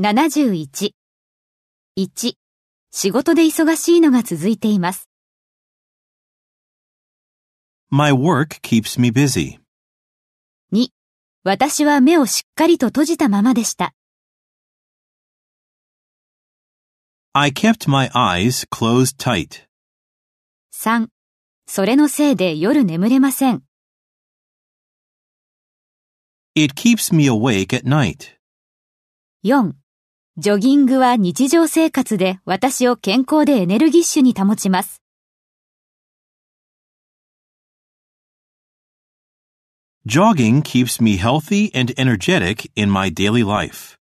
71。1、仕事で忙しいのが続いています。 My work keeps me busy. 2、私は目をしっかりと閉じたままでした。 I kept my eyes closed tight. 3、それのせいで夜眠れません。 It keeps me awake at night. 4、ジョギングは日常生活で私を健康でエネルギッシュに保ちます。 Jogging keeps me healthy and energetic in my daily life.